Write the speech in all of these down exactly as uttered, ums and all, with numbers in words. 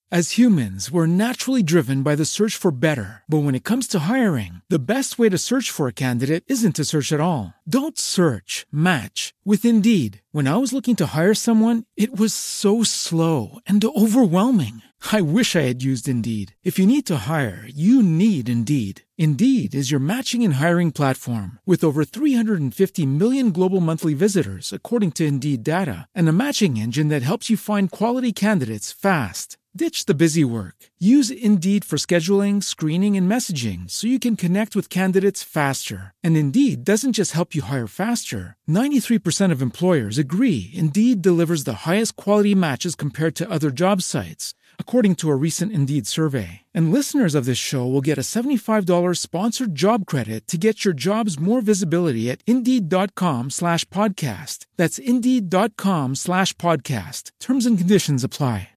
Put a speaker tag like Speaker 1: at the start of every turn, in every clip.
Speaker 1: As humans, we're naturally driven by the search for better. But when it comes to hiring, the best way to search for a candidate isn't to search at all. Don't search, match with Indeed. When I was looking to hire someone, it was so slow and overwhelming. I wish I had used Indeed. If you need to hire, you need Indeed. Indeed is your matching and hiring platform with over three hundred fifty million global monthly visitors, according to Indeed data, and a matching engine that helps you find quality candidates fast. Ditch the busy work. Use Indeed for scheduling, screening, and messaging so you can connect with candidates faster. And Indeed doesn't just help you hire faster. ninety-three percent of employers agree Indeed delivers the highest quality matches compared to other job sites, according to a recent Indeed survey. And listeners of this show will get a seventy-five dollars sponsored job credit to get your jobs more visibility at Indeed.com slash podcast. That's Indeed.com slash podcast. Terms and conditions apply.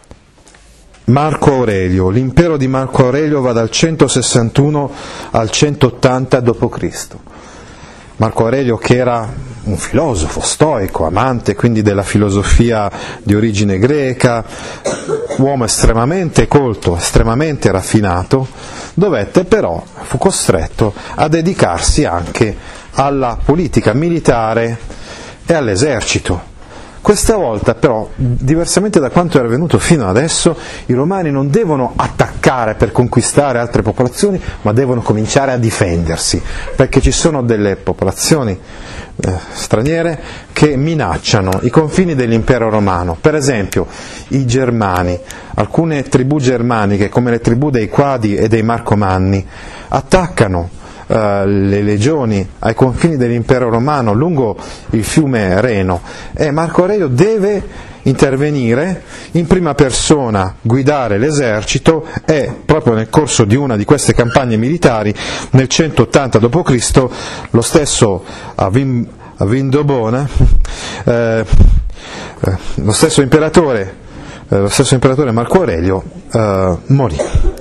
Speaker 2: Marco Aurelio. L'impero di Marco Aurelio va dal centosessantuno al centottanta dopo Cristo Marco Aurelio, che era un filosofo stoico, amante quindi della filosofia di origine greca, uomo estremamente colto, estremamente raffinato, dovette però, fu costretto a dedicarsi anche alla politica militare e all'esercito. Questa volta però, diversamente da quanto era avvenuto fino adesso, i romani non devono attaccare per conquistare altre popolazioni, ma devono cominciare a difendersi, perché ci sono delle popolazioni eh, straniere che minacciano i confini dell'impero romano. Per esempio i Germani, alcune tribù germaniche come le tribù dei Quadi e dei Marcomanni attaccano Uh, le legioni ai confini dell'impero romano lungo il fiume Reno, e Marco Aurelio deve intervenire in prima persona, guidare l'esercito, e proprio nel corso di una di queste campagne militari nel centottanta dopo Cristo lo stesso Avin, Avindobona eh, eh, lo stesso imperatore eh, lo stesso imperatore Marco Aurelio eh, morì.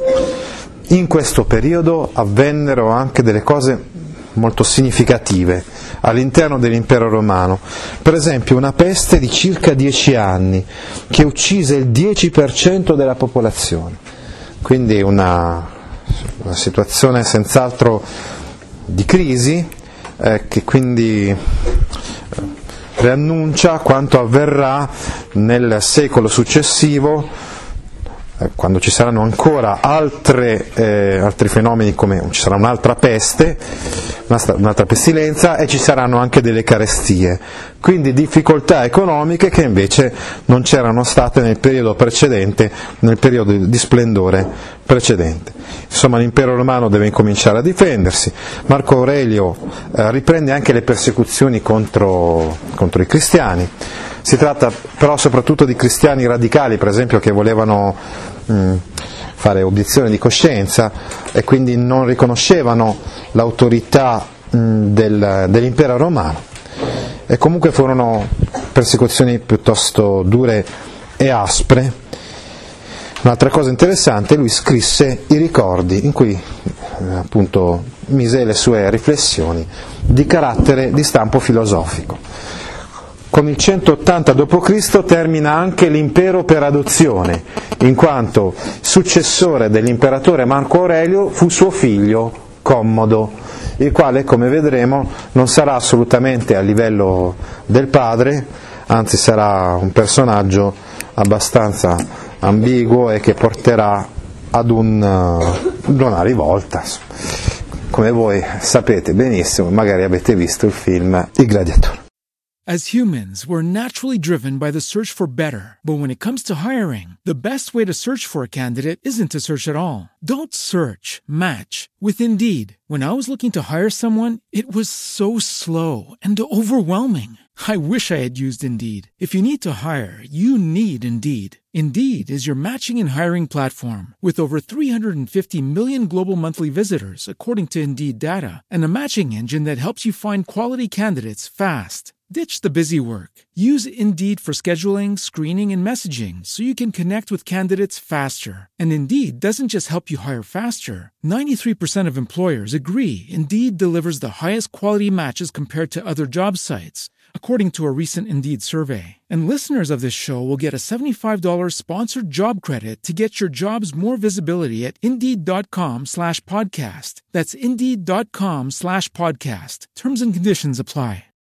Speaker 2: In questo periodo avvennero anche delle cose molto significative all'interno dell'impero romano. Per esempio una peste di circa dieci anni che uccise il dieci per cento della popolazione, quindi una, una situazione senz'altro di crisi eh, che quindi preannuncia quanto avverrà nel secolo successivo, quando ci saranno ancora altre, eh, altri fenomeni, come ci sarà un'altra peste, un'altra pestilenza, e ci saranno anche delle carestie, quindi difficoltà economiche che invece non c'erano state nel periodo precedente, nel periodo di splendore precedente. Insomma, l'impero romano deve incominciare a difendersi. Marco Aurelio eh, riprende anche le persecuzioni contro, contro i cristiani. Si tratta però soprattutto di cristiani radicali, per esempio, che volevano mh, fare obiezione di coscienza e quindi non riconoscevano l'autorità mh, del, dell'impero romano. E comunque furono persecuzioni piuttosto dure e aspre. Un'altra cosa interessante, lui scrisse i ricordi in cui eh, appunto mise le sue riflessioni di carattere di stampo filosofico. Con il centottanta dopo Cristo termina anche l'impero per adozione, in quanto successore dell'imperatore Marco Aurelio fu suo figlio Commodo, il quale, come vedremo, non sarà assolutamente a livello del padre, anzi sarà un personaggio abbastanza ambiguo e che porterà ad un, uh, una rivolta. Come voi sapete benissimo, magari avete visto il film Il Gladiatore.
Speaker 1: As humans, we're naturally driven by the search for better. But when it comes to hiring, the best way to search for a candidate isn't to search at all. Don't search, match with Indeed. When I was looking to hire someone, it was so slow and overwhelming. I wish I had used Indeed. If you need to hire, you need Indeed. Indeed is your matching and hiring platform with over three hundred fifty million global monthly visitors, according to Indeed data, and a matching engine that helps you find quality candidates fast. Ditch the busy work. Use Indeed for scheduling, screening, and messaging so you can connect with candidates faster. And Indeed doesn't just help you hire faster. ninety-three percent of employers agree Indeed delivers the highest quality matches compared to other job sites, according to a recent Indeed survey. And listeners of this show will get a seventy-five dollars sponsored job credit to get your jobs more visibility at Indeed.com slash podcast. That's Indeed.com slash podcast. Terms and conditions apply.